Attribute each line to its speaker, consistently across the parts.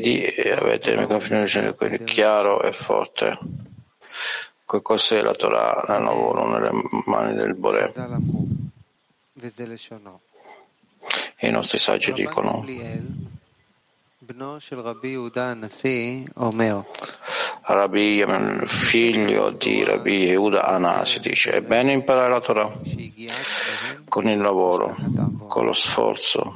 Speaker 1: piedi e avete il microfono chiaro e forte. Cos'è la Torah nel lavoro, nelle mani del Boré? E i nostri saggi dicono: Rabbi, figlio di Rabbi Yehuda Anasi, dice: è bene imparare la Torah con il lavoro, con lo sforzo,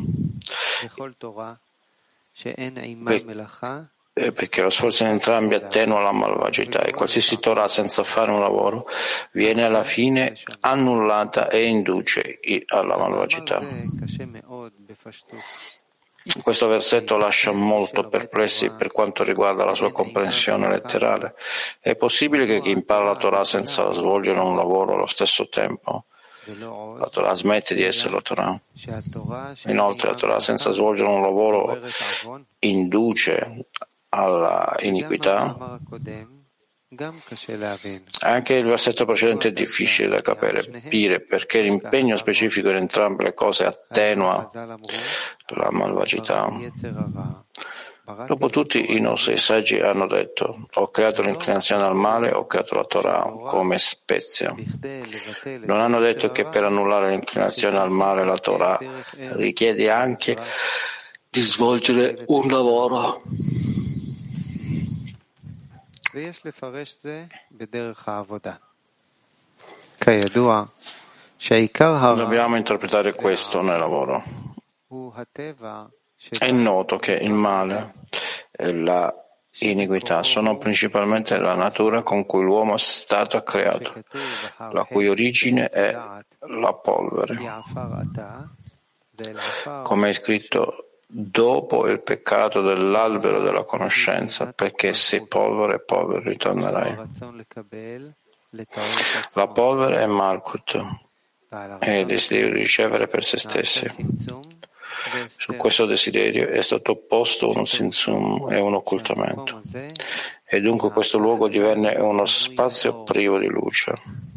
Speaker 1: perché lo sforzo in entrambi attenua la malvagità e qualsiasi Torah senza fare un lavoro viene alla fine annullata e induce alla malvagità. Questo versetto lascia molto perplessi per quanto riguarda la sua comprensione letterale. È possibile che chi impara la Torah senza svolgere un lavoro allo stesso tempo, la Torah smette di essere la Torah? Inoltre la Torah senza svolgere un lavoro induce alla iniquità? Anche il versetto precedente è difficile da capire perché l'impegno specifico in entrambe le cose attenua la malvagità. Dopo tutti i nostri saggi hanno detto: ho creato l'inclinazione al male, ho creato la Torah come spezia. Non hanno detto che per annullare l'inclinazione al male la Torah richiede anche di svolgere un lavoro. Dobbiamo interpretare questo nel lavoro. È noto che il male e la iniquità sono principalmente la natura con cui l'uomo è stato creato, la cui origine è la polvere. Come è scritto: dopo il peccato dell'albero della conoscenza, perché sei polvere, polvere ritornerai. La polvere è Malkut, è il desiderio di ricevere per se stessi. Su questo desiderio è stato opposto uno tzimtzum e un occultamento, e dunque questo luogo divenne uno spazio privo di luce.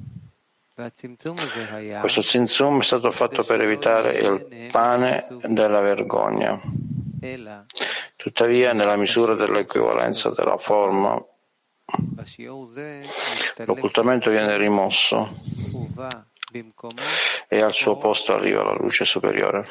Speaker 1: Questo tzimtzum è stato fatto per evitare il pane della vergogna. Tuttavia, nella misura dell'equivalenza della forma, l'occultamento viene rimosso e al suo posto arriva la luce superiore.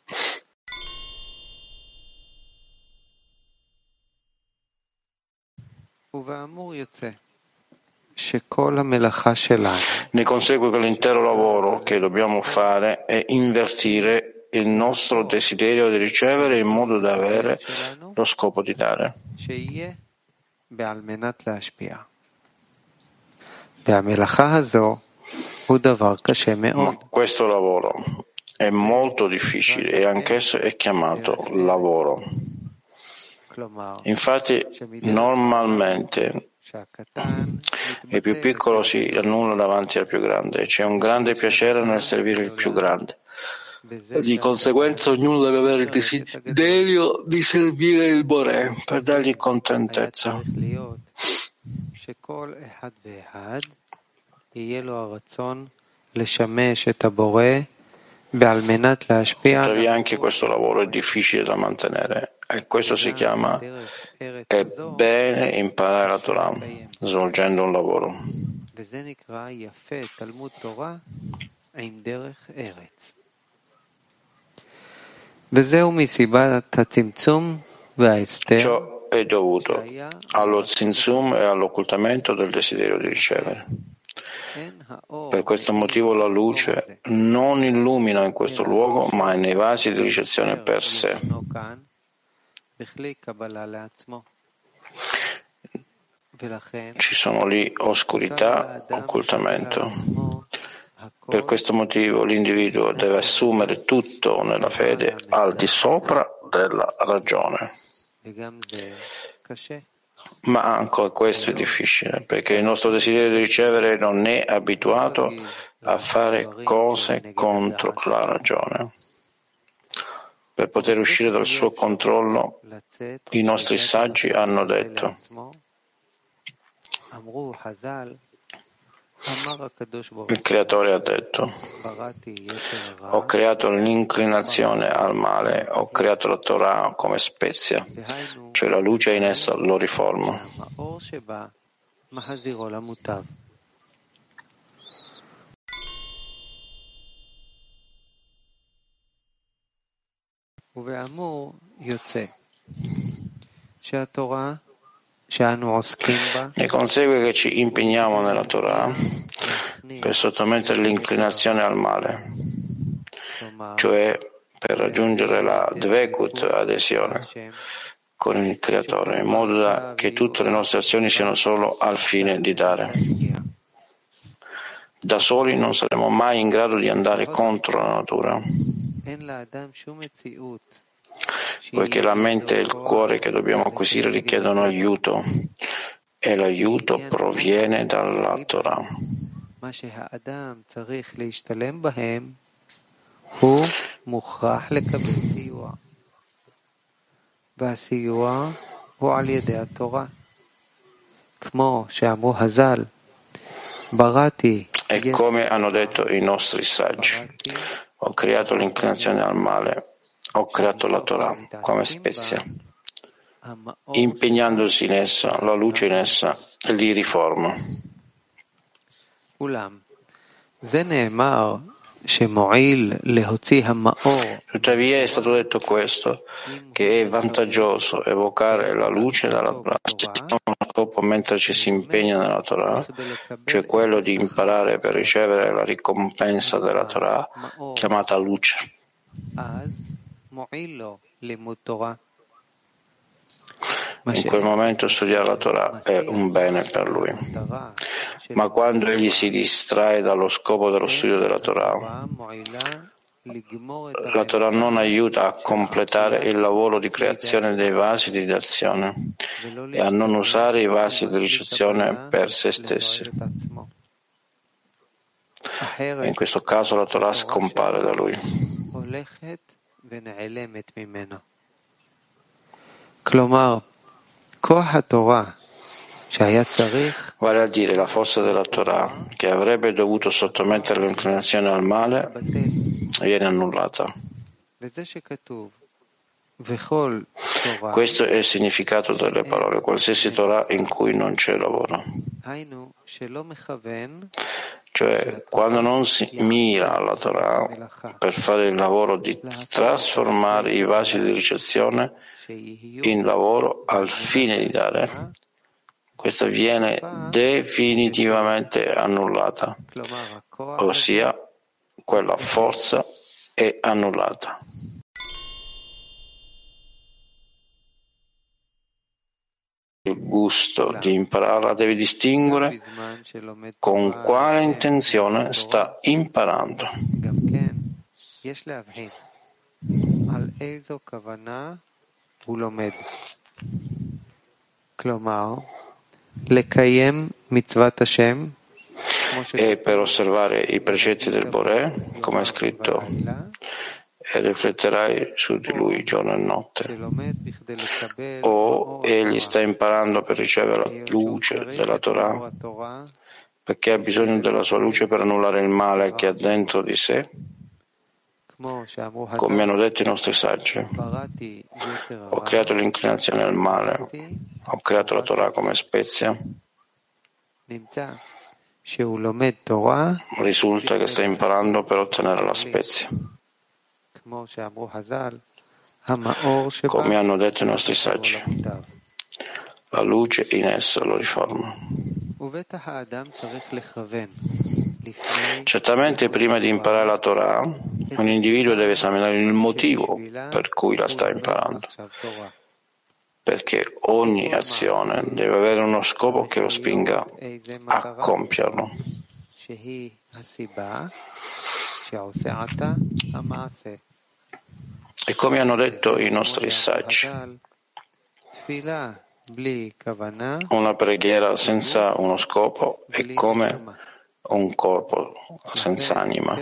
Speaker 1: Ne consegue che l'intero lavoro che dobbiamo fare è invertire il nostro desiderio di ricevere in modo da avere lo scopo di dare. Ma questo lavoro è molto difficile e anch'esso è chiamato lavoro. Infatti, normalmente il più piccolo si annulla davanti al più grande. C'è un grande piacere nel servire il più grande. Di conseguenza ognuno deve avere il desiderio di servire il Boré per dargli contentezza. Tuttavia anche questo lavoro è difficile da mantenere e questo si chiama è bene imparare la Torah svolgendo un lavoro. Ciò è dovuto allo tzimtzum e all'occultamento del desiderio di ricevere. Per questo motivo la luce non illumina in questo luogo, ma nei vasi di ricezione per sé. Ci sono lì oscurità, occultamento. Per questo motivo l'individuo deve assumere tutto nella fede al di sopra della ragione. Ma anche questo è difficile, perché il nostro desiderio di ricevere non è abituato a fare cose contro la ragione. Per poter uscire dal suo controllo, i nostri saggi hanno detto: Il Creatore ha detto: ho creato l'inclinazione al male, ho creato la Torah come spezia, cioè la luce in essa lo riforma. Ne consegue che ci impegniamo nella Torah per sottomettere l'inclinazione al male, cioè per raggiungere la dvekut, adesione, con il Creatore, in modo che tutte le nostre azioni siano solo al fine di dare. Da soli non saremo mai in grado di andare contro la natura, poiché la mente e il cuore che dobbiamo acquisire richiedono aiuto, e l'aiuto proviene dalla Torah. E come hanno detto i nostri saggi, ho creato l'inclinazione al male, ho creato la Torah come spezia. Impegnandosi in essa, la luce in essa li riforma. Tuttavia è stato detto questo, che è vantaggioso evocare la luce dalla prassi, non uno scopo mentre ci si impegna nella Torah, cioè quello di imparare per ricevere la ricompensa della Torah, chiamata luce. In quel momento studiare la Torah è un bene per lui. Ma quando egli si distrae dallo scopo dello studio della Torah, la Torah non aiuta a completare il lavoro di creazione dei vasi di azione e a non usare i vasi di ricezione per se stessi. E in questo caso la Torah scompare da lui. Vale a dire, la forza della Torah, che avrebbe dovuto sottomettere l'inclinazione al male, viene annullata. Questo è il significato delle parole, qualsiasi Torah in cui non c'è lavoro. Cioè, quando non si mira alla Torah per fare il lavoro di trasformare i vasi di ricezione in lavoro al fine di dare, questa viene definitivamente annullata, ossia quella forza è annullata. Il gusto di impararla deve distinguere con quale intenzione sta imparando. E per osservare i precetti del Boré, come è scritto, e rifletterai su di lui giorno e notte. O egli sta imparando per ricevere la luce della Torah, perché ha bisogno della sua luce per annullare il male che ha dentro di sé, come hanno detto i nostri saggi. Ho creato l'inclinazione al male, ho creato la Torah come spezia. Risulta che sta imparando per ottenere la spezia. Come hanno detto i nostri saggi, la luce in esso lo riforma. Certamente prima di imparare la Torah, un individuo deve esaminare il motivo per cui la sta imparando, perché ogni azione deve avere uno scopo che lo spinga a compierlo. E come hanno detto i nostri saggi, una preghiera senza uno scopo è come un corpo senza anima.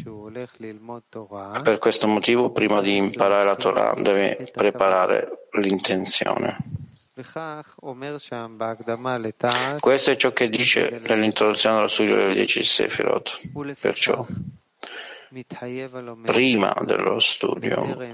Speaker 1: Per questo motivo, prima di imparare la Torah, deve preparare l'intenzione. Questo è ciò che dice nell'introduzione dello studio delle 10 Sefirot. Perciò, prima dello studio,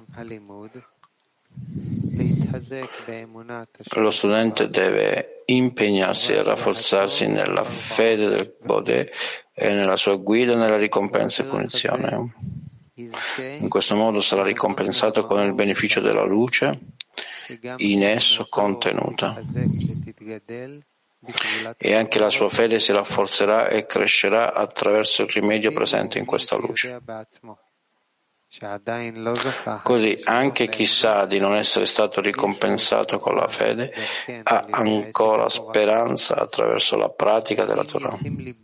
Speaker 1: lo studente deve impegnarsi e rafforzarsi nella fede del Bodè e nella sua guida nella ricompensa e punizione. In questo modo sarà ricompensato con il beneficio della luce in esso contenuta, e anche la sua fede si rafforzerà e crescerà attraverso il rimedio presente in questa luce. Così anche chi sa di non essere stato ricompensato con la fede ha ancora speranza attraverso la pratica della Torah.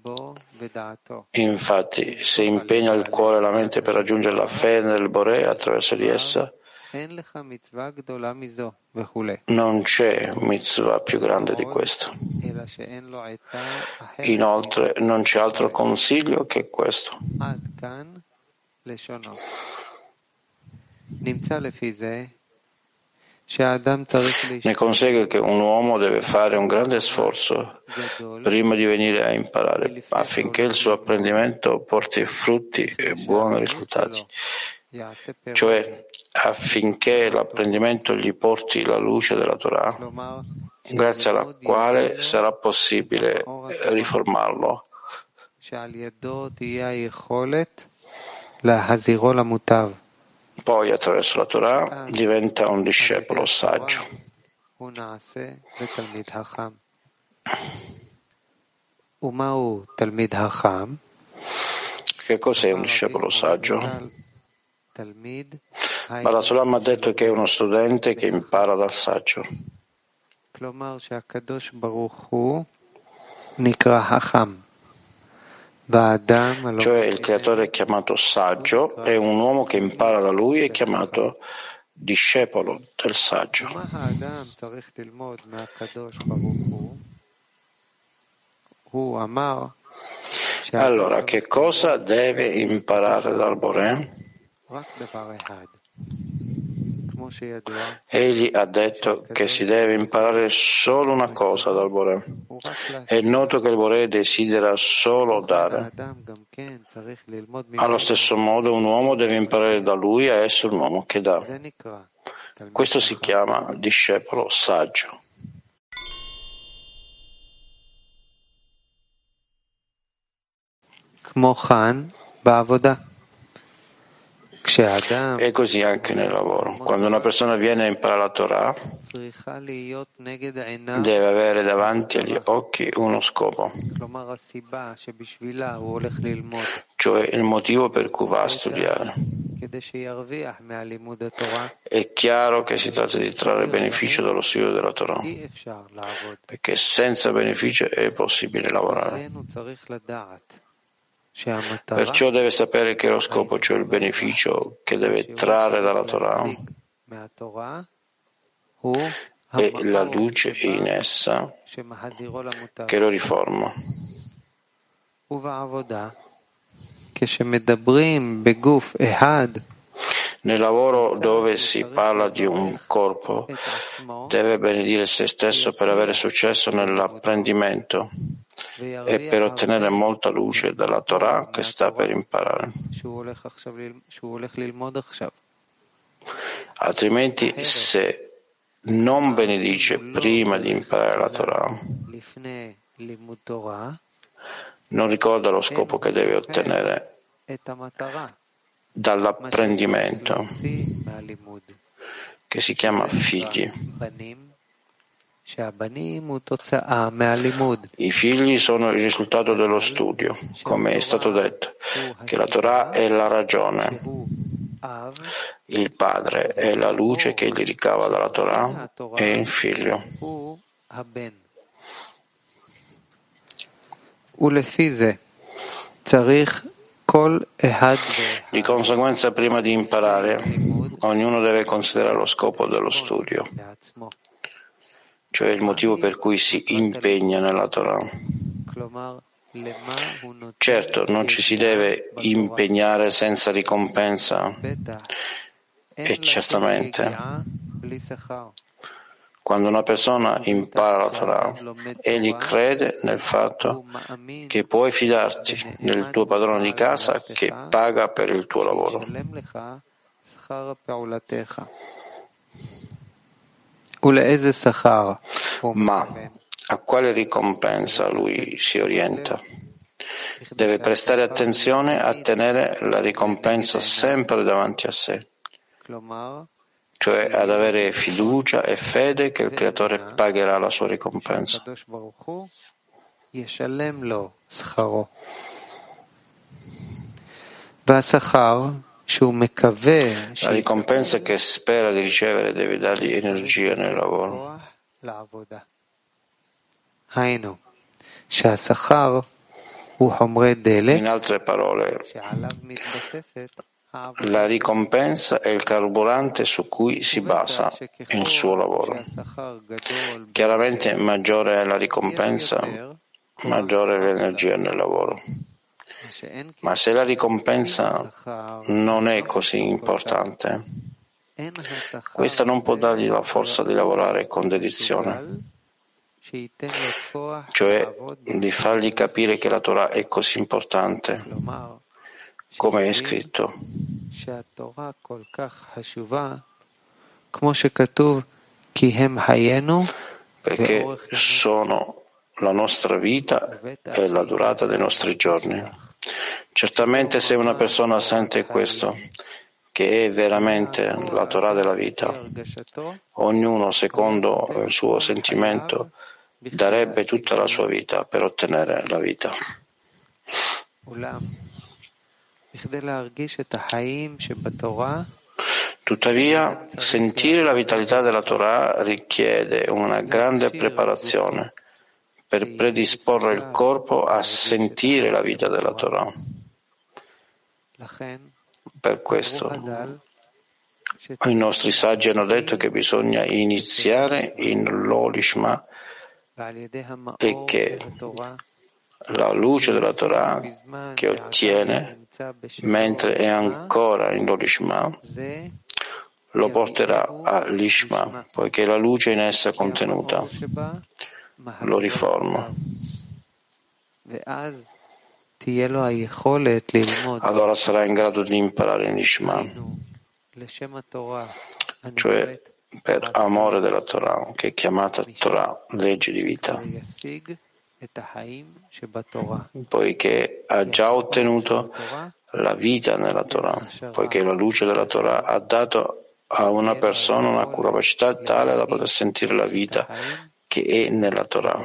Speaker 1: Infatti, se impegna il cuore e la mente per raggiungere la fede nel Boré attraverso di essa, non c'è mitzvah più grande di questa. Inoltre, non c'è altro consiglio che questo. Ne consegue che un uomo deve fare un grande sforzo prima di venire a imparare, affinché il suo apprendimento porti frutti e buoni risultati, cioè affinché l'apprendimento gli porti la luce della Torah, grazie alla quale sarà possibile riformarlo. Poi, attraverso la Torah, diventa un discepolo saggio. Che cos'è un discepolo saggio? Bala Sulam ha detto che è uno studente che impara dal saggio. Cioè il creatore è chiamato saggio e un uomo che impara da lui è chiamato discepolo del saggio. Allora, che cosa deve imparare dal Boré? Egli ha detto che si deve imparare solo una cosa dal Boré. È noto che il Boré desidera solo dare. Allo stesso modo un uomo deve imparare da lui a essere un uomo che dà. Questo si chiama discepolo saggio. E così anche nel lavoro. Quando una persona viene a imparare la Torah, deve avere davanti agli occhi uno scopo, cioè il motivo per cui va a studiare. È chiaro che si tratta di trarre beneficio dallo studio della Torah, perché senza beneficio è possibile lavorare. Perciò deve sapere che lo scopo, cioè il beneficio che deve trarre dalla Torah, è la luce in essa che lo riforma. Nel lavoro dove si parla di un corpo, deve benedire se stesso per avere successo nell'apprendimento e per ottenere molta luce dalla Torah che sta per imparare. Altrimenti, se non benedice prima di imparare la Torah, non ricorda lo scopo che deve ottenere dall'apprendimento, che si chiama figli. I figli sono il risultato dello studio, come è stato detto, che la Torah è la ragione, il padre è la luce che egli ricava dalla Torah e il figlio. Di conseguenza, prima di imparare, ognuno deve considerare lo scopo dello studio, cioè il motivo per cui si impegna nella Torah. Certo, non ci si deve impegnare senza ricompensa, e certamente Quando una persona impara la Torah, egli crede nel fatto che puoi fidarti del tuo padrone di casa che paga per il tuo lavoro. Ma a quale ricompensa lui si orienta? Deve prestare attenzione a tenere la ricompensa sempre davanti a sé, cioè ad avere fiducia e fede che il Creatore pagherà la sua ricompensa. La ricompensa che spera di ricevere deve dargli energia nel lavoro. In altre parole, la ricompensa è il carburante su cui si basa il suo lavoro. Chiaramente maggiore è la ricompensa, maggiore è l'energia nel lavoro. Ma se la ricompensa non è così importante, questa non può dargli la forza di lavorare con dedizione, cioè di fargli capire che la Torah è così importante, come è scritto. Perché sono la nostra vita e la durata dei nostri giorni. Certamente se una persona sente questo, che è veramente la Torah della vita, ognuno secondo il suo sentimento darebbe tutta la sua vita per ottenere la vita. Tuttavia, sentire la vitalità della Torah richiede una grande preparazione per predisporre il corpo a sentire la vita della Torah. Per questo i nostri saggi hanno detto che bisogna iniziare in Lolishma e che la luce della Torah che ottiene mentre è ancora in Lolishma lo porterà a Lishma, poiché la luce in essa contenuta lo riforma. Allora sarà in grado di imparare in Lishma, cioè per amore della Torah, che è chiamata Torah, legge di vita, poiché ha già ottenuto la vita nella Torah, poiché la luce della Torah ha dato a una persona una capacità tale da poter sentire la vita che è nella Torah.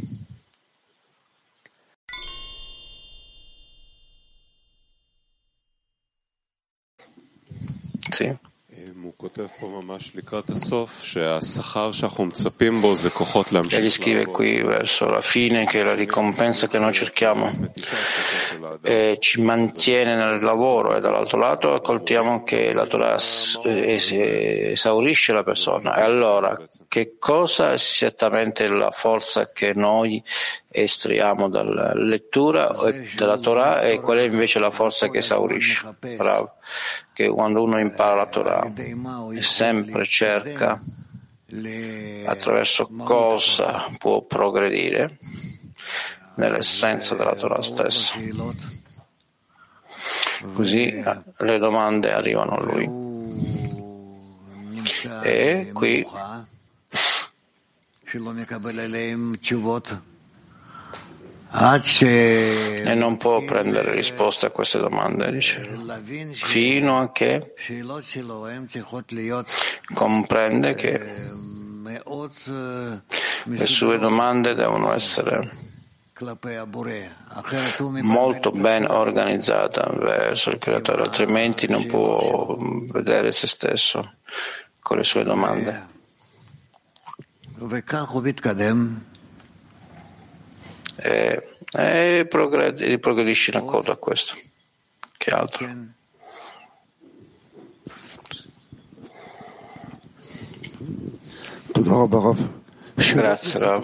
Speaker 1: Sì. Egli scrive qui verso la fine che la ricompensa che noi cerchiamo ci mantiene nel lavoro e dall'altro lato ascoltiamo che la Torah esaurisce la persona. E allora, che cosa è esattamente la forza che noi estraiamo dalla lettura della Torah e qual è invece la forza che esaurisce? Bravo. Che quando uno impara la Torah sempre cerca attraverso cosa può progredire nell'essenza della Torah stessa. Così le domande arrivano a lui. E qui e non può prendere risposte a queste domande, dice, fino a che comprende che le sue domande devono essere molto ben organizzate verso il Creatore, altrimenti non può vedere se stesso con le sue domande. E progredisce in accordo a questo. Che altro? Grazie, Rav.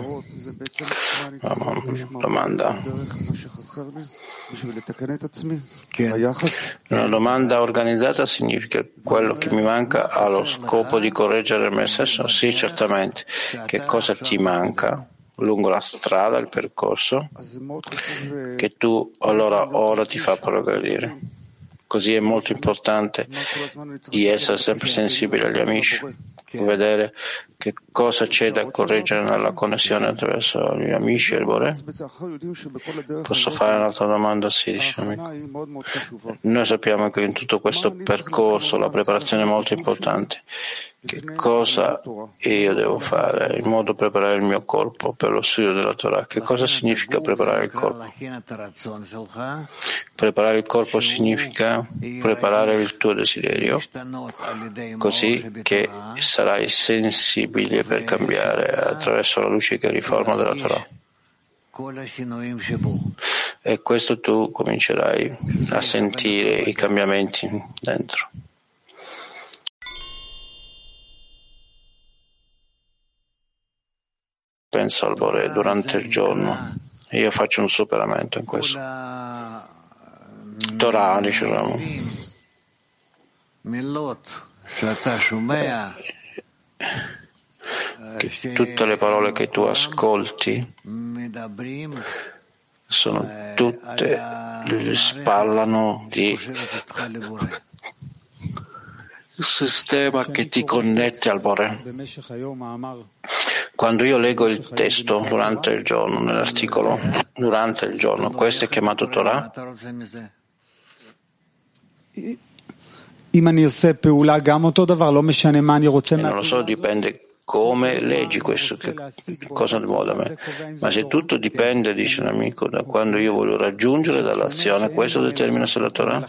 Speaker 1: Domanda. Una domanda organizzata significa quello che mi manca ha lo scopo di correggere me stesso? Sì, certamente. Che cosa ti manca lungo la strada, il percorso, che tu allora ora ti fa progredire? Così è molto importante di essere sempre sensibili agli amici, vedere che cosa c'è da correggere nella connessione attraverso gli amici e il Bore. Posso fare un'altra domanda? Sì, dice l'amico. Noi sappiamo che in tutto questo percorso la preparazione è molto importante. Che cosa io devo fare in modo da preparare il mio corpo per lo studio della Torah? Che cosa significa preparare il corpo? Preparare il corpo significa preparare il tuo desiderio, così che sarai sensibile per cambiare attraverso la luce che riforma della Torah. E questo tu comincerai a sentire i cambiamenti dentro. Penso al Bore durante il giorno. Io faccio un superamento in questo. Torah, dicevamo. Che tutte le parole che tu ascolti sono tutte, parlano di il sistema che ti connette al Bore. Quando io leggo il testo durante il giorno, nell'articolo, durante il giorno, questo è chiamato Torah?
Speaker 2: Non
Speaker 1: lo so, dipende come leggi questo, che cosa vuole da me. Ma se tutto dipende, dice l'amico, da quando io voglio raggiungere dall'azione, questo determina se la Torah?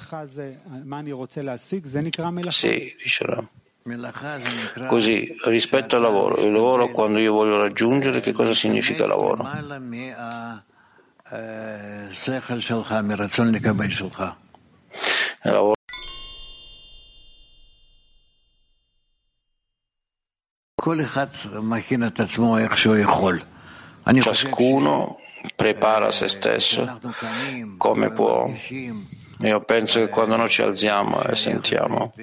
Speaker 1: Sì, dice Ram. Così, rispetto al lavoro, il lavoro quando io voglio raggiungere, che cosa significa lavoro? Il lavoro. Ciascuno prepara se stesso come può. Io penso che quando noi ci alziamo e sentiamo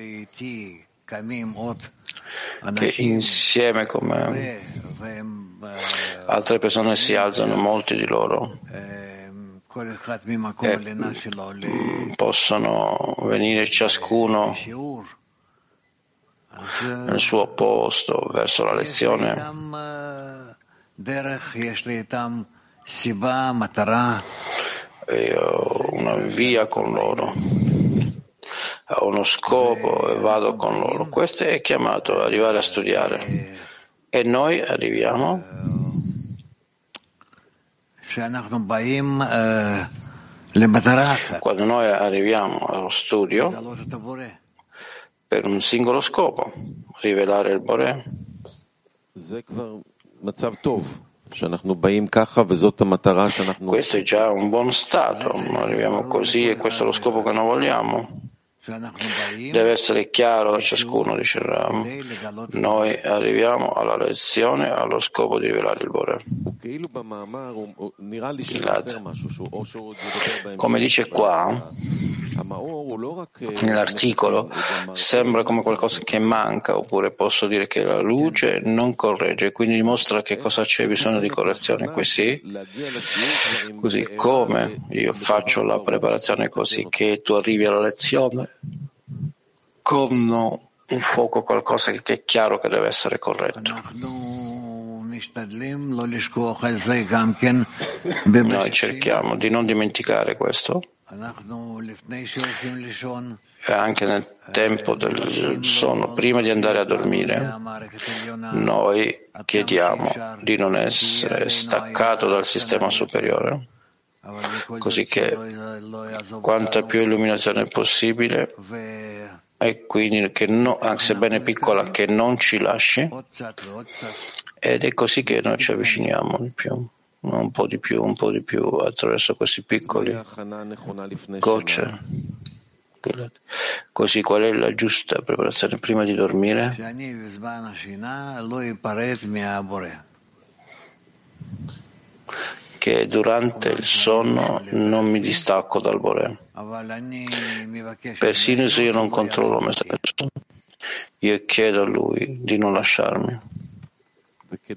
Speaker 1: che insieme come altre persone si alzano, molti di loro possono venire ciascuno nel suo posto verso la lezione. E ho una via con loro, ho uno scopo e vado con loro. Questo è chiamato arrivare a studiare. E noi arriviamo quando noi arriviamo allo studio per un singolo scopo, rivelare il Bore. Questo è già un buon stato, arriviamo così e questo è lo scopo che noi vogliamo. Deve essere chiaro a ciascuno, dice Ram. Noi arriviamo alla lezione allo scopo di rivelare il Bore. Come dice qua, nell'articolo, sembra come qualcosa che manca, oppure posso dire che la luce non corregge, quindi dimostra che cosa c'è bisogno di correzione qui, sì? Così come io faccio la preparazione così che tu arrivi alla lezione con un fuoco, qualcosa che è chiaro che deve essere corretto. Noi cerchiamo di non dimenticare questo. E anche nel tempo del sonno, prima di andare a dormire, noi chiediamo di non essere staccato dal sistema superiore, così che quanta più illuminazione possibile, e quindi che sebbene piccola, che non ci lasci, ed è così che noi ci avviciniamo di più. Un po' di più attraverso questi piccoli gocce. Così qual è la giusta preparazione prima di dormire? che durante il sonno non mi distacco dal Boré. Persino se io non controllo me stesso, io chiedo a Lui di non lasciarmi. E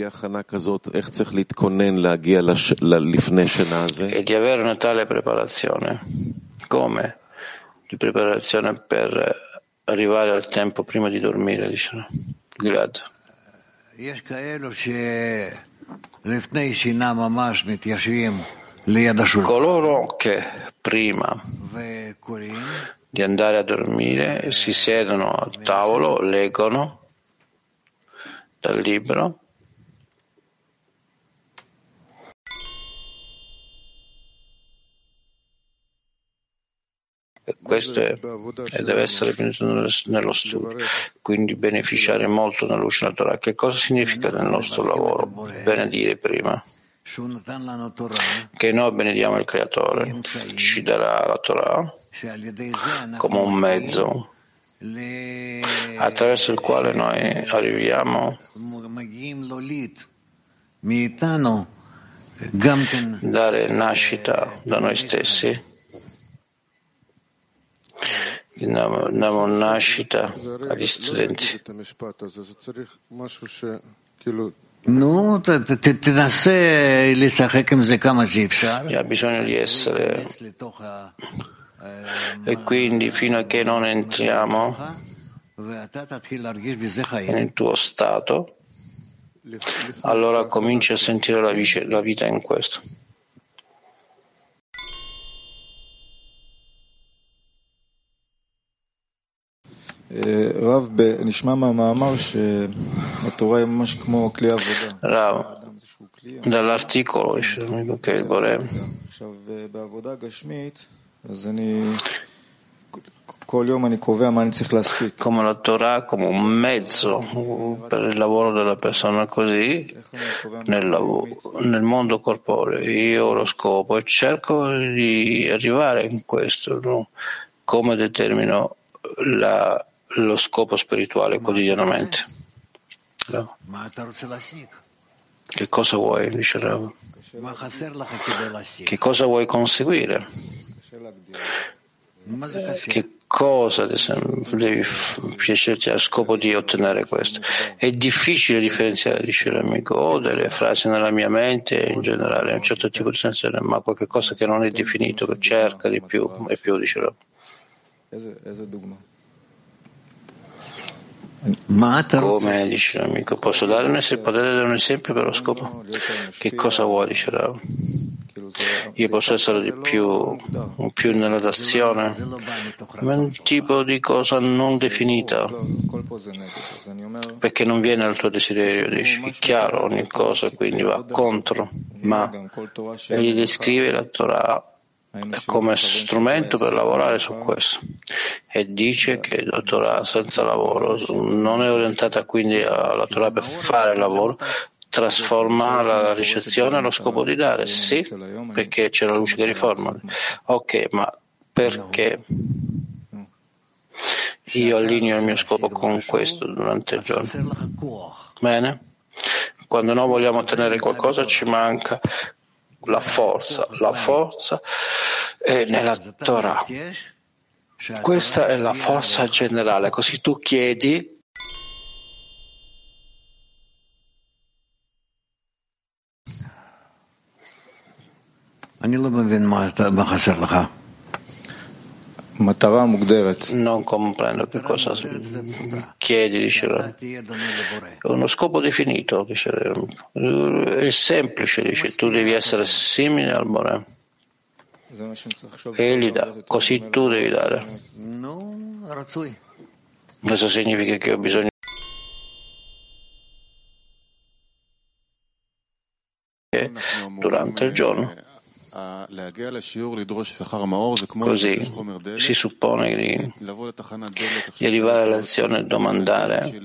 Speaker 1: di avere una tale preparazione, come di preparazione per arrivare al tempo prima di dormire, dice Gilad. Coloro che prima di andare a dormire si siedono al tavolo, leggono dal libro e questo deve essere nello studio, quindi beneficiare molto nella luce della Torah. Che cosa significa nel nostro lavoro? Benedire prima, che noi benediamo il Creatore, ci darà la Torah come un mezzo attraverso il quale noi arriviamo a dare nascita da noi stessi, diamo nascita agli studenti. Ha bisogno di essere, e quindi fino a che non entriamo nel tuo stato, allora cominci a sentire la vita in questo.
Speaker 2: Rav,
Speaker 1: dall'articolo che il Boré come la Torah come un mezzo per il lavoro della persona, così nel mondo corporeo io ho lo scopo e cerco di arrivare in questo, no? Come determino lo scopo spirituale quotidianamente. No? Che cosa vuoi, dice Rav? Che cosa vuoi conseguire? Che cosa, ad esempio, devi piacerti a scopo di ottenere questo? È difficile differenziare, dice l'amico, ho delle frasi nella mia mente in generale, un certo tipo di sensazione, ma qualche cosa che non è definito, che cerca di più e più, dice Rav. Come dice l'amico, potete dare un esempio per lo scopo? Che cosa vuoi, dice Rav? Io posso essere di più nella d'azione, ma è un tipo di cosa non definita, perché non viene al tuo desiderio, dici, è chiaro ogni cosa, quindi va contro, ma egli descrive la Torah come strumento per lavorare su questo e dice che la Torah senza lavoro non è orientata quindi alla Torah per fare il lavoro, trasforma la ricezione allo scopo di dare, sì, perché c'è la luce che riforma. Ok, ma perché io allineo il mio scopo con questo durante il giorno? Bene? Quando noi vogliamo ottenere qualcosa ci manca la forza è nella Torah. Questa è la forza generale, così tu chiedi non comprendo che cosa chiedi, dice uno scopo definito, dice è semplice, dice tu devi essere simile al Boré. Egli dà, così tu devi dare. Questo significa che ho bisogno durante il giorno. Così si suppone di arrivare alla lezione e domandare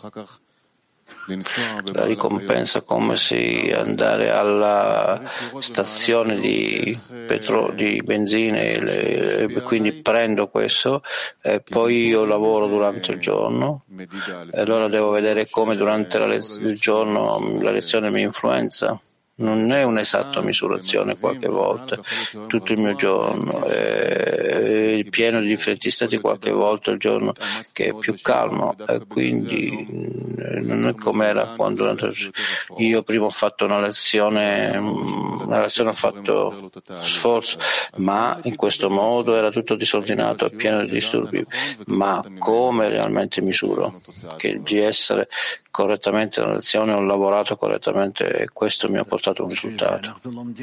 Speaker 1: la ricompensa come se andare alla stazione di benzina e quindi prendo questo e poi io lavoro durante il giorno e allora devo vedere come durante il giorno la lezione mi influenza. non è un'esatta misurazione qualche volta, tutto il mio giorno, è pieno di differenti stati qualche volta il giorno che è più calmo, e quindi non è come era quando io prima ho fatto una lezione ho fatto sforzo, ma in questo modo era tutto disordinato e pieno di disturbi. Ma come realmente misuro che di essere correttamente nella lezione ho lavorato correttamente e questo mi ha portato a un risultato.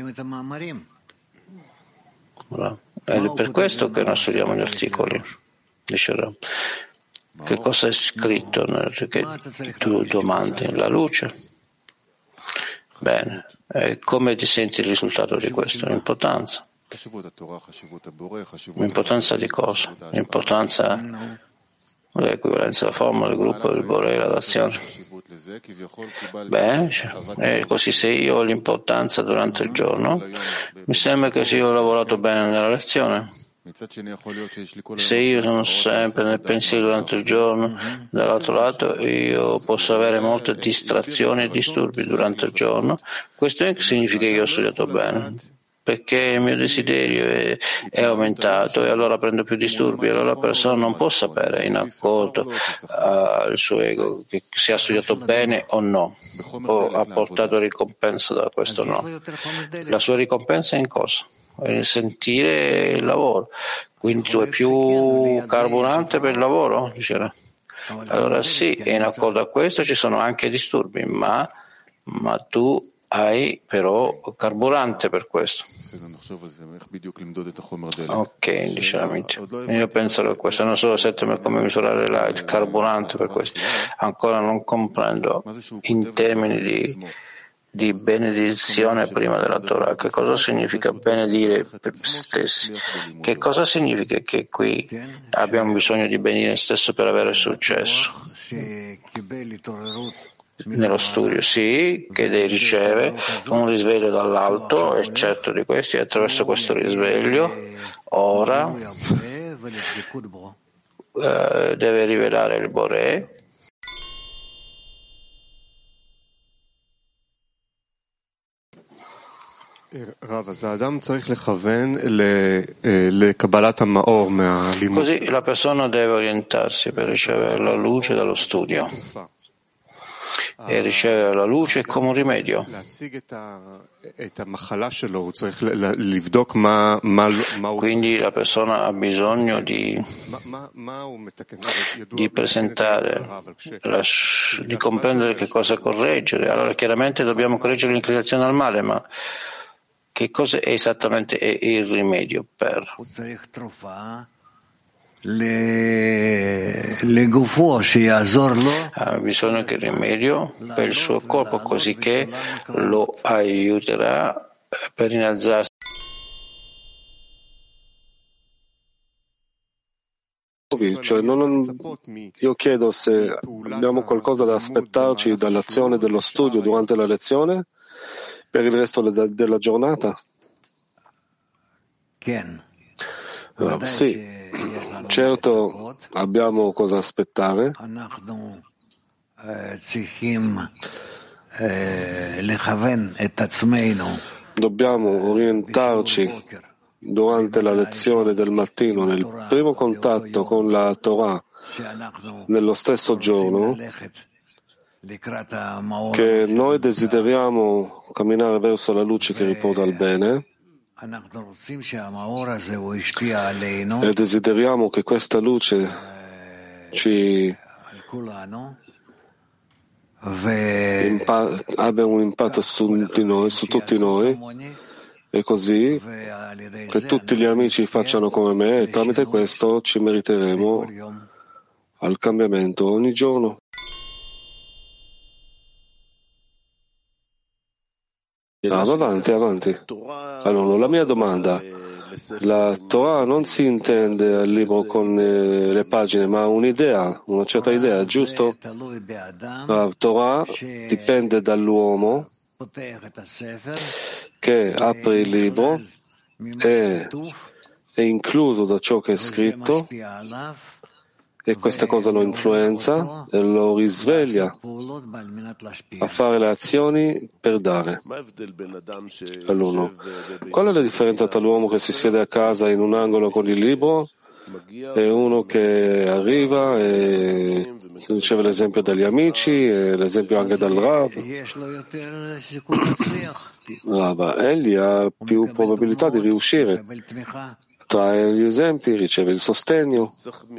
Speaker 1: Ed è per questo che noi studiamo gli articoli. Dice Rav. Che cosa è scritto che tu domandi? La luce? Bene. E come ti senti il risultato di questo? L'importanza. L'importanza di cosa? L'importanza dell'equivalenza della forma, del gruppo, del Boré, la d'azione. Bene, così se io ho l'importanza durante il giorno, mi sembra che se io ho lavorato bene nella lezione. Se io sono sempre nel pensiero durante il giorno, dall'altro lato io posso avere molte distrazioni e disturbi durante il giorno. Questo significa che io ho studiato bene, perché il mio desiderio è aumentato e allora prendo più disturbi, allora la persona non può sapere in accordo al suo ego che se ha studiato bene o no, o ha portato ricompensa da questo o no. La sua ricompensa è in cosa? Nel sentire il lavoro. Quindi tu hai più carburante per il lavoro? Diceva. Allora sì, e in accordo a questo ci sono anche disturbi, ma tu hai però carburante per questo. Ok, dice l'amico. Io penso a questo, non so se come misurare il carburante per questo. Ancora non comprendo in termini di benedizione prima della Torah. Che cosa significa benedire per stessi? Che cosa significa che qui abbiamo bisogno di benedire stesso per avere successo? Nello studio, sì, che riceve un risveglio dall'alto, è certo di questo, e attraverso questo risveglio ora deve rivelare il Boré. Così la persona deve orientarsi per ricevere la luce dallo studio e ricevere la luce come un rimedio. Quindi la persona ha bisogno di presentare, di comprendere che cosa correggere. Allora chiaramente dobbiamo correggere l'inclinazione al male, ma che cosa è esattamente il rimedio per? Ha bisogno che il rimedio per il suo corpo, così che lo aiuterà per innalzarsi.
Speaker 2: Cioè, io chiedo se abbiamo qualcosa da aspettarci dall'azione dello studio durante la lezione per il resto della giornata? Sì, certo abbiamo cosa aspettare. Dobbiamo orientarci durante la lezione del mattino, nel primo contatto con la Torah, nello stesso giorno, che noi desideriamo camminare verso la luce che riporta al bene e desideriamo che questa luce ci abbia un impatto su tutti noi, e così che tutti gli amici facciano come me, e tramite questo ci meriteremo al cambiamento ogni giorno. Avanti. Allora, la mia domanda: la Torah non si intende al libro con le pagine, ma un'idea, una certa idea, giusto? La Torah dipende dall'uomo che apre il libro e è incluso da ciò che è scritto e questa cosa lo influenza e lo risveglia a fare le azioni per dare. All'uno. Qual è la differenza tra l'uomo che si siede a casa in un angolo con il libro e uno che arriva e riceve l'esempio dagli amici e l'esempio anche dal Rav? Egli ha più probabilità di riuscire. Trae gli esempi, riceve il sostegno.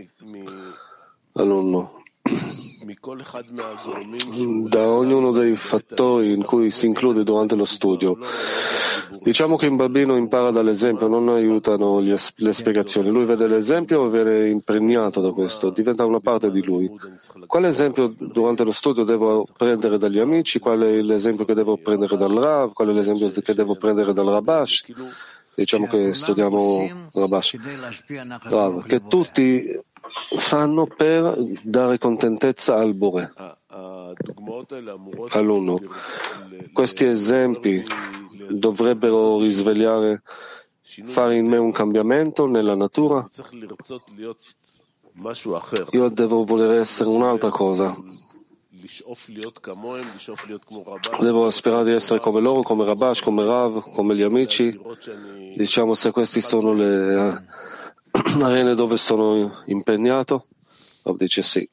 Speaker 2: Alunno. Da ognuno dei fattori in cui si include durante lo studio. Diciamo che un bambino impara dall'esempio, non aiutano le spiegazioni. Lui vede l'esempio e viene impregnato da questo, diventa una parte di lui. Quale esempio durante lo studio devo prendere dagli amici? Qual è l'esempio che devo prendere dal Rav? Qual è l'esempio che devo prendere dal Rabash? Diciamo che studiamo Rabash. Rav, che tutti fanno per dare contentezza al Bore. Alunno, questi esempi dovrebbero risvegliare, fare in me un cambiamento nella natura? Io devo voler essere un'altra cosa. Devo sperare di essere come loro, come Rabash, come Rav, come gli amici. Diciamo, se queste sono le arene dove sono impegnato, Rav dice sì.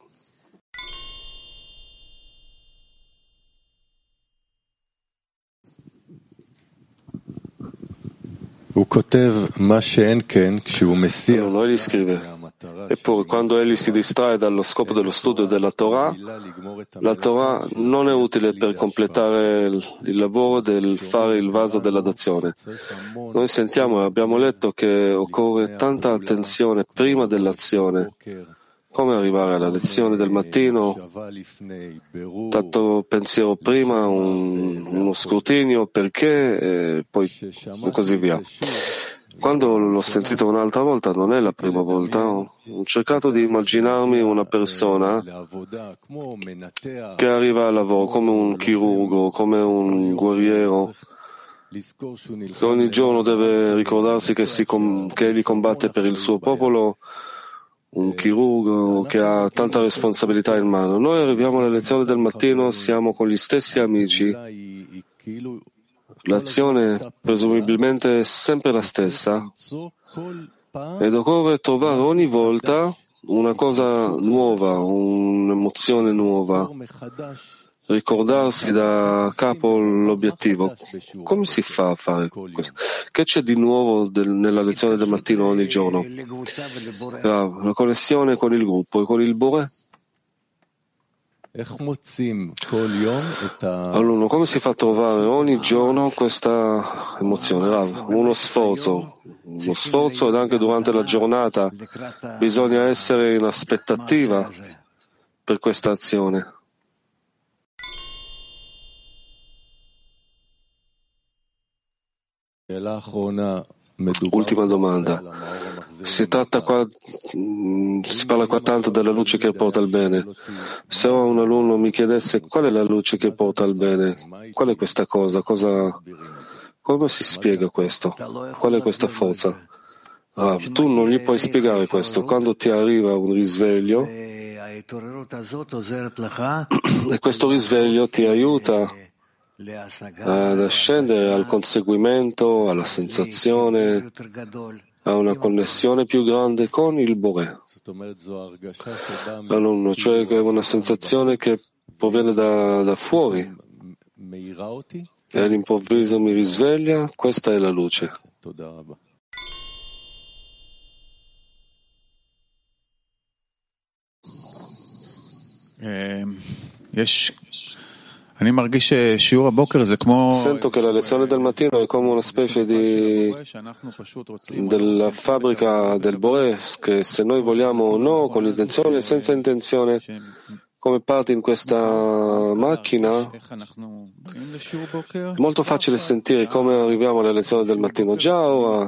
Speaker 2: Allora, egli scrive, eppure quando egli si distrae dallo scopo dello studio della Torah, la Torah non è utile per completare il lavoro del fare il vaso della dazione. Noi sentiamo e abbiamo letto che occorre tanta attenzione prima dell'azione. Come arrivare alla lezione del mattino? Tanto pensiero prima, uno scrutinio, perché, e poi così via. Quando l'ho sentito un'altra volta, non è la prima volta, ho cercato di immaginarmi una persona che arriva al lavoro come un chirurgo, come un guerriero, che ogni giorno deve ricordarsi che egli combatte per il suo popolo, un chirurgo che ha tanta responsabilità in mano. Noi arriviamo alle lezioni del mattino, siamo con gli stessi amici. L'azione presumibilmente è sempre la stessa ed occorre trovare ogni volta una cosa nuova, un'emozione nuova, ricordarsi da capo l'obiettivo. Come si fa a fare questo? Che c'è di nuovo nella lezione del mattino ogni giorno? La connessione con il gruppo e con il Bore? Allora, come si fa a trovare ogni giorno questa emozione? Uno sforzo ed anche durante la giornata bisogna essere in aspettativa per questa azione. Ultima domanda. Si parla qua tanto della luce che porta al bene. Se ora un alunno mi chiedesse qual è la luce che porta al bene, qual è questa cosa? Come si spiega questo? Qual è questa forza? Tu non gli puoi spiegare questo. Quando ti arriva un risveglio, e questo risveglio ti aiuta ad ascendere al conseguimento, alla sensazione, a una connessione più grande con il Bore. Alunno, cioè che è una sensazione che proviene da fuori e all'improvviso mi risveglia, questa è la luce. Sento che la lezione del mattino è come una specie della fabbrica del Bore, che se noi vogliamo o no, con intenzione e senza intenzione, come parte in questa macchina, è molto facile sentire come arriviamo alle lezioni del mattino. Già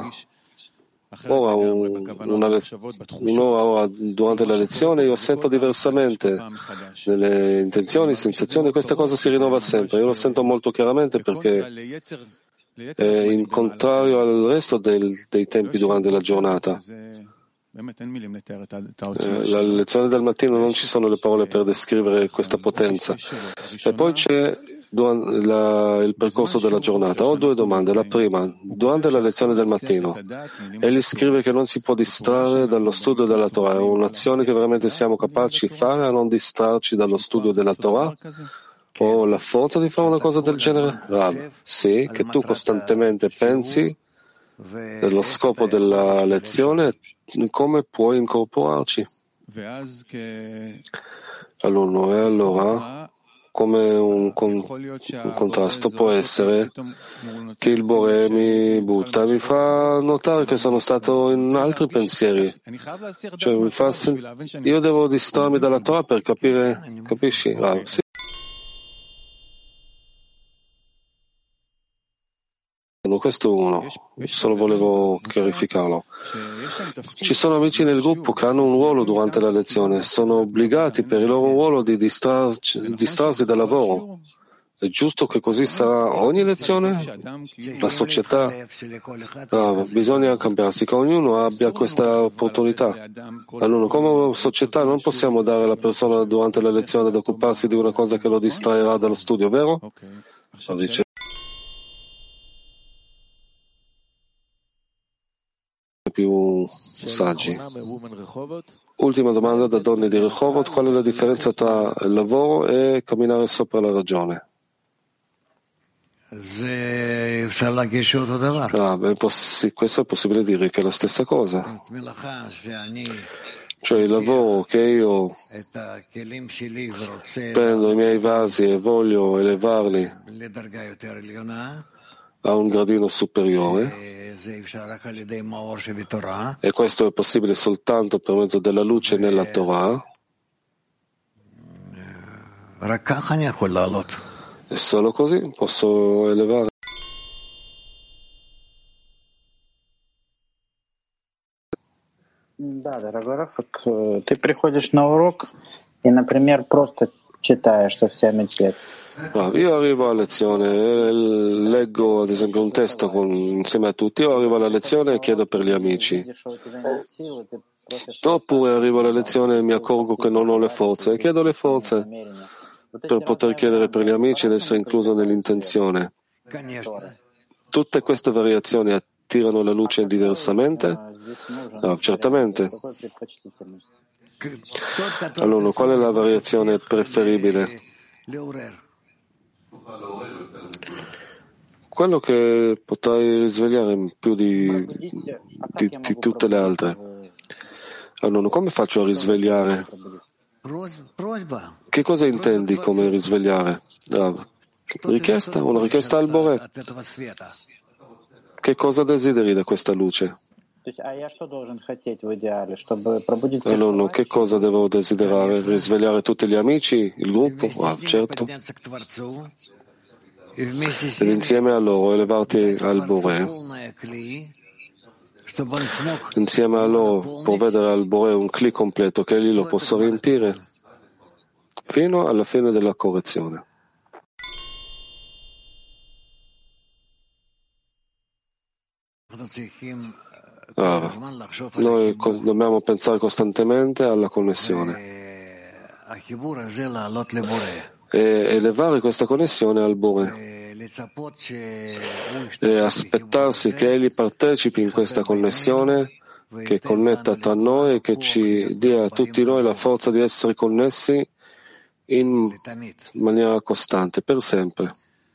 Speaker 2: un'ora durante la lezione io sento diversamente nelle intenzioni, sensazioni, questa cosa si rinnova sempre. Io lo sento molto chiaramente perché è in contrario al resto dei tempi durante la giornata. La lezione del mattino non ci sono le parole per descrivere questa potenza. E poi c'è il percorso della giornata. Ho due domande. La prima, durante la lezione del mattino, egli scrive che non si può distrarre dallo studio della Torah. È un'azione che veramente siamo capaci di fare a non distrarci dallo studio della Torah? O la forza di fare una cosa del genere? Rav, sì, che tu costantemente pensi dello scopo della lezione, come puoi incorporarci all'uno. E allora, come un contrasto può essere che il Bore mi butta, mi fa notare che sono stato in altri pensieri, cioè io devo distrarmi dalla Torah per capire, capisci? Sì. Questo uno, solo volevo chiarificarlo. Ci sono amici nel gruppo che hanno un ruolo durante la lezione, sono obbligati per il loro ruolo di distrarsi dal lavoro. È giusto che così sarà ogni lezione? La società bisogna cambiarsi, che ognuno abbia questa opportunità. Allora, come società non possiamo dare alla persona durante la lezione ad occuparsi di una cosa che lo distraerà dallo studio, vero? Dice più saggi. Ultima domanda da donne di Rehovot: qual è la differenza tra il lavoro e camminare sopra la ragione? Questo è possibile dire che è la stessa cosa. Cioè il lavoro che io prendo i miei vasi e voglio elevarli a un gradino superiore, e questo è possibile soltanto per mezzo della luce nella Torah, e solo così posso elevare.
Speaker 3: Да, дорогой Рафик, ты приходишь на урок и, например, просто читаешь со всеми текст.
Speaker 2: Io arrivo a lezione e leggo ad esempio un testo insieme a tutti, io arrivo alla lezione e chiedo per gli amici. Oppure arrivo alla lezione e mi accorgo che non ho le forze e chiedo le forze per poter chiedere per gli amici ed essere incluso nell'intenzione. Tutte queste variazioni attirano la luce diversamente? Certamente. Allora, qual è la variazione preferibile? Quello che potrai risvegliare più di tutte le altre. Allora, come faccio a risvegliare? Che cosa intendi come risvegliare? Richiesta? Una richiesta al Bore? Che cosa desideri da questa luce? Allora, che cosa devo desiderare? Risvegliare tutti gli amici? Il gruppo? Certo. Ed insieme a loro elevarti al Bore. Insieme a loro provvedere al Bore un clic completo che egli lo possa riempire fino alla fine della correzione. Noi dobbiamo pensare costantemente alla connessione e elevare questa connessione al Bore e aspettarsi che egli partecipi in questa connessione che connetta tra noi e che ci dia a tutti noi la forza di essere connessi in maniera costante, per sempre.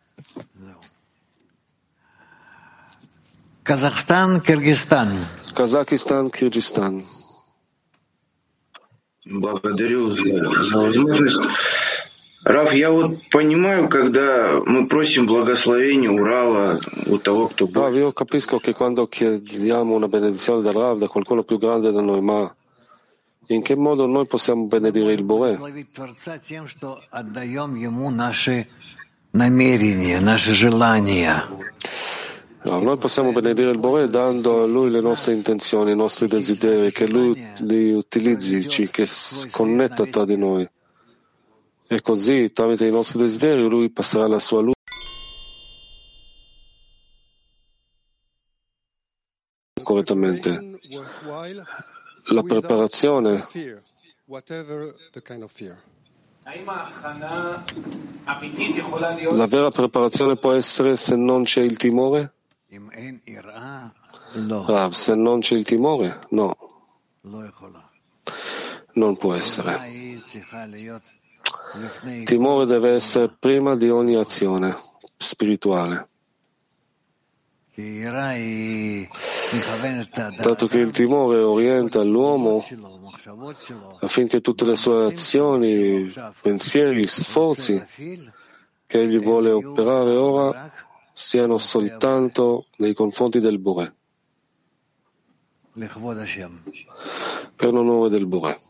Speaker 2: Казахстан, Киргизстан.
Speaker 4: Благодарю за возможность. Раф, я вот понимаю, когда мы просим благословения Урала у того, кто был.
Speaker 2: Io capisco che quando chiediamo una benedizione dal Rav, da qualcuno più grande da noi, ma in che modo noi possiamo benedire il Bore? Noi possiamo benedire il Bore dando a lui le nostre intenzioni, i nostri desideri, che lui li utilizzi, che connetta tra di noi. E così, tramite i nostri desideri, lui passerà la sua luce correttamente. la preparazione, la vera preparazione può essere se non c'è il timore? Rav, se non c'è il timore, no, non può essere. Il timore deve essere prima di ogni azione spirituale. Dato che il timore orienta l'uomo affinché tutte le sue azioni, pensieri, sforzi che egli vuole operare ora siano soltanto nei confronti del Boré, per l'onore del Boré.